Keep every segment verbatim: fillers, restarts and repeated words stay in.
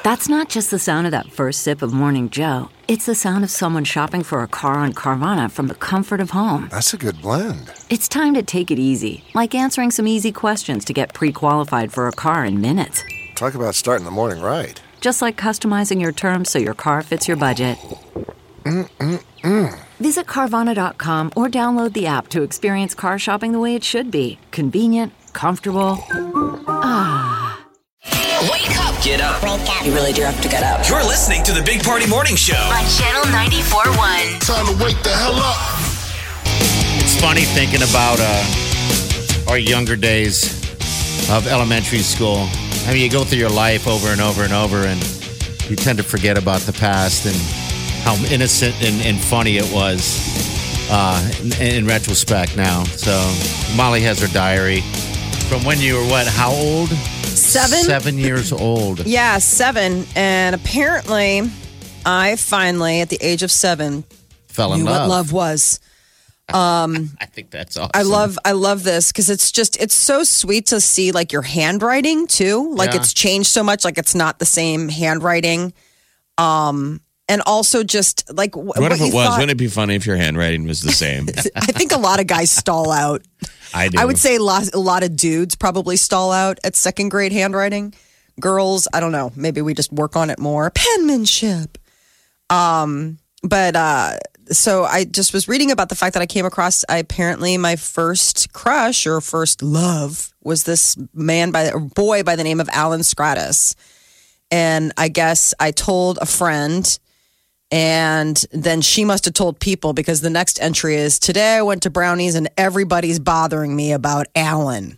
That's not just the sound of that first sip of Morning Joe. It's the sound of someone shopping for a car on Carvana from the comfort of home. That's a good blend. It's time to take it easy, like answering some easy questions to get pre-qualified for a car in minutes. Talk about starting the morning right. Just like customizing your terms so your car fits your budget. Mm-mm-mm. Visit Carvana dot com or download the app to experience car shopping the way it should be. Convenient, comfortable. Ah. Wake up. Get up. Wake up. You really do have to get up. You're listening to the Big Party Morning Show on Channel ninety-four point one. Time to wake the hell up. It's funny thinking about uh, our younger days of elementary school. I mean, you go through your life over and over and over, and you tend to forget about the past and how innocent and, and funny it was uh, in, in retrospect now. So Molly has her diary from when you were, what, how old? Seven? Seven years old. Yeah, seven. And apparently, I finally, at the age of seven, Fell in knew love. what love was. Um, I think that's awesome. I love, I love this because it's just, it's so sweet to see like your handwriting too. Like Yeah. it's changed so much. Like it's not the same handwriting. Um, and also just like wh- What, what if it you was? thought- Wouldn't it be funny if your handwriting was the same? I think a lot of guys stall out. I do. I would say a lot, a lot of dudes probably stall out at second grade handwriting. Girls, I don't know. Maybe we just work on it more. Penmanship. Um, but uh, so I just was reading about the fact that I came across. I, apparently, my first crush or first love was this man by or boy by the name of Alan Stratus, and I guess I told a friend. And then she must have told people because the next entry is, today I went to Brownies and everybody's bothering me about Alan.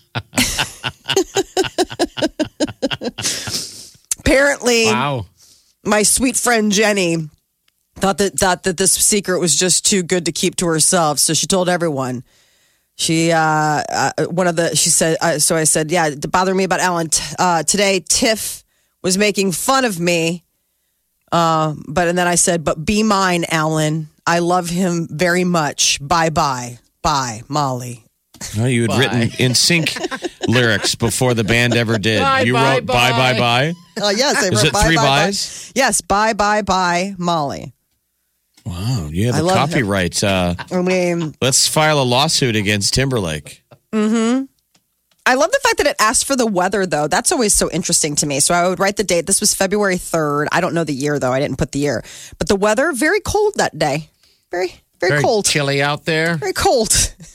Apparently, Wow. my sweet friend Jenny thought that, thought that this secret was just too good to keep to herself. So she told everyone. She, uh, uh one of the, she said, uh, so I said, yeah, to bother me about Alan. T- uh, today, Tiff was making fun of me. Uh, but and then I said, but be mine, Alan. I love him very much. Bye bye. Bye, Molly. Oh, you had Bye. written in sync lyrics before the band ever did. Bye, you bye, wrote bye, bye, bye. bye. Uh, yes, I Is wrote it bye, three bye, bye. buys? Yes, bye, bye, bye, Molly. Wow, you have I the love copyright. Uh, I mean, let's file a lawsuit against Timberlake. mm-hmm. I love the fact that it asked for the weather, though. That's always so interesting to me. So I would write the date. This was February third. I don't know the year, though. I didn't put the year. But the weather, very cold that day. Very, very, Very cold. chilly out there. Very cold.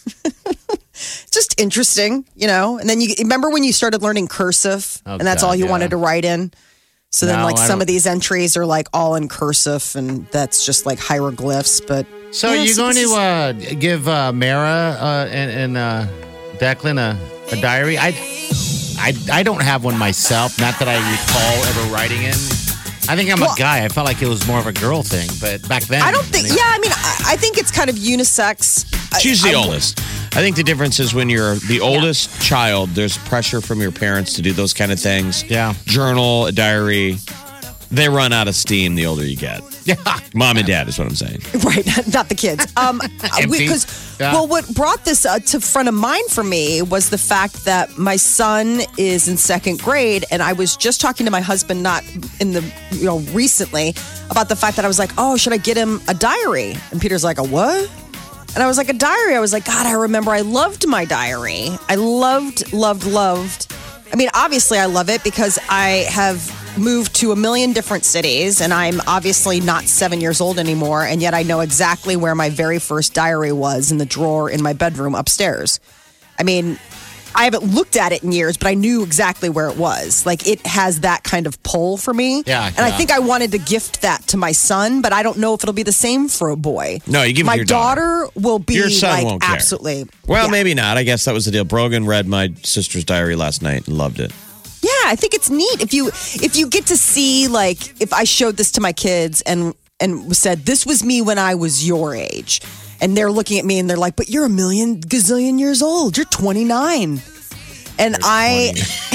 Just interesting, you know? And then you remember when you started learning cursive Oh, and that's God, all you yeah. wanted to write in? So then, No, like, I some don't- of these entries are like all in cursive and that's just like hieroglyphs. But So yeah, are you so going this to uh, give uh, Mara uh, and, and uh, Declan a, a diary? I, I I don't have one myself. Not that I recall ever writing in. I think I'm Well- a guy. I felt like it was more of a girl thing, but back then I don't think, anyway. yeah, I mean, I, I think it's kind of unisex. I- She's the I- oldest. I think the difference is when you're the oldest child, there's pressure from your parents to do those kind of things. Yeah. Journal, a diary. They run out of steam the older you get. Yeah. Mom and dad is what I'm saying. Right, not the kids. Um, Empty. because Yeah. well, what brought this uh, to front of mind for me was the fact that my son is in second grade, and I was just talking to my husband, not in the you know recently, about the fact that I was like, oh, should I get him a diary? And Peter's like, a what? And I was like, a diary. I was like, God, I remember I loved my diary. I loved, loved, loved. I mean, obviously, I love it because I have moved to a million different cities and I'm obviously not seven years old anymore. And yet I know exactly where my very first diary was in the drawer in my bedroom upstairs. I mean, I haven't looked at it in years, but I knew exactly where it was. Like it has that kind of pull for me. Yeah, And I yeah. think I wanted to gift that to my son, but I don't know if it'll be the same for a boy. No, you give it my to your daughter. will be Your son like won't care. absolutely. Well, yeah. maybe not. I guess that was the deal. Brogan read my sister's diary last night and loved it. Yeah, I think it's neat if you if you get to see like if I showed this to my kids and and said this was me when I was your age, and they're looking at me and they're like, "But you're a million gazillion years old. You're twenty-nine," and I,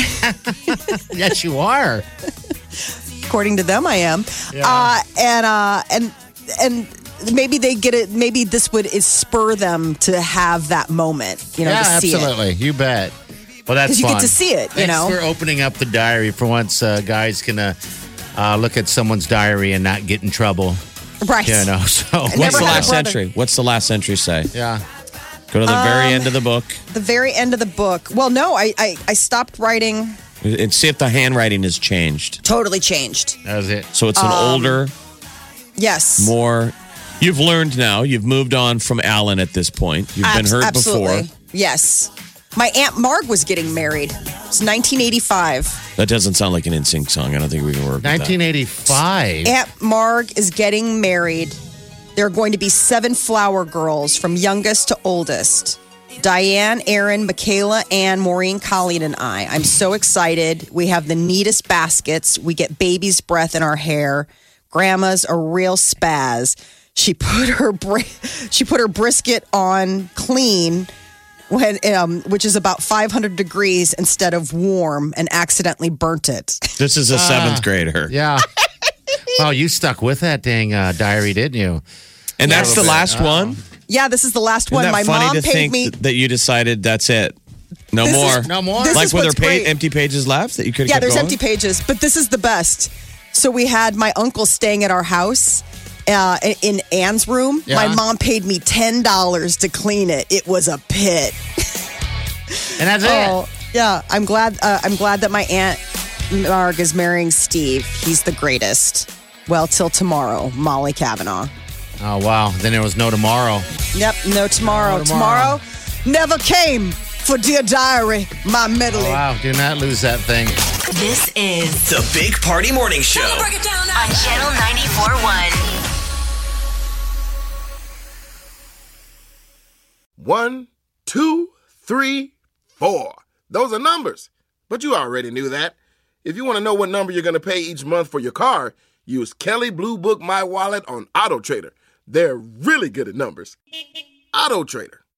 Yes, you are. according to them, I am. Yeah. Uh, and uh, and and maybe they get it. Maybe this would is spur them to have that moment. You know, Yeah, to see it. absolutely. You bet. Well, that's 'Cause you fun. get to see it, you Thanks know? for opening up the diary for once. Uh, guys can uh, uh, look at someone's diary and not get in trouble. Right. You know, so. What's never the had a last brother. entry? What's the last entry say? Yeah. Go to the very Um, end of the book The very end of the book. Well, no, I, I, I stopped writing. and see if the handwriting has changed. Totally changed. That was it. So it's an Um, older, Yes. more. You've learned now. You've moved on from Alan at this point. You've been Abs- hurt absolutely. before. Yes. My Aunt Marg was getting married. It's nineteen eighty-five. That doesn't sound like an N Sync song. I don't think we can work with that. nineteen eighty-five. Aunt Marg is getting married. There are going to be seven flower girls from youngest to oldest. Diane, Aaron, Michaela, Ann, Maureen, Colleen, and I. I'm so excited. We have the neatest baskets. We get baby's breath in our hair. Grandma's a real spaz. She put her bri- she put her brisket on clean when um, which is about five hundred degrees instead of warm, and accidentally burnt it. This is a seventh grader. Yeah. Oh, you stuck with that dang uh, diary, didn't you? And that's the bit. last one? Yeah, this is the last Isn't one. that My funny mom to paid think me. that you decided that's it? No This more. is- No more? This like is were there what's pa- great. empty pages left that you could have Yeah, kept there's going? empty pages, but this is the best. So we had my uncle staying at our house uh, in Ann's room. Yeah. My mom paid me ten dollars to clean it. It was a pit. And that's Oh, yeah. I'm glad. Uh, I'm glad that my aunt Marg is marrying Steve. He's the greatest. Well, till tomorrow, Molly Kavanaugh. it. Oh, wow. Then there was no tomorrow. Yep, no tomorrow. No tomorrow. tomorrow never came for Dear Diary, my medley. Oh, wow. Do not lose that thing. This is The Big Party Morning Show. on Channel ninety-four point one. One, two, three, four. Those are numbers. But you already knew that. If you want to know what number you're going to pay each month for your car, use Kelly Blue Book My Wallet on Auto Trader. They're really good at numbers. Auto Trader.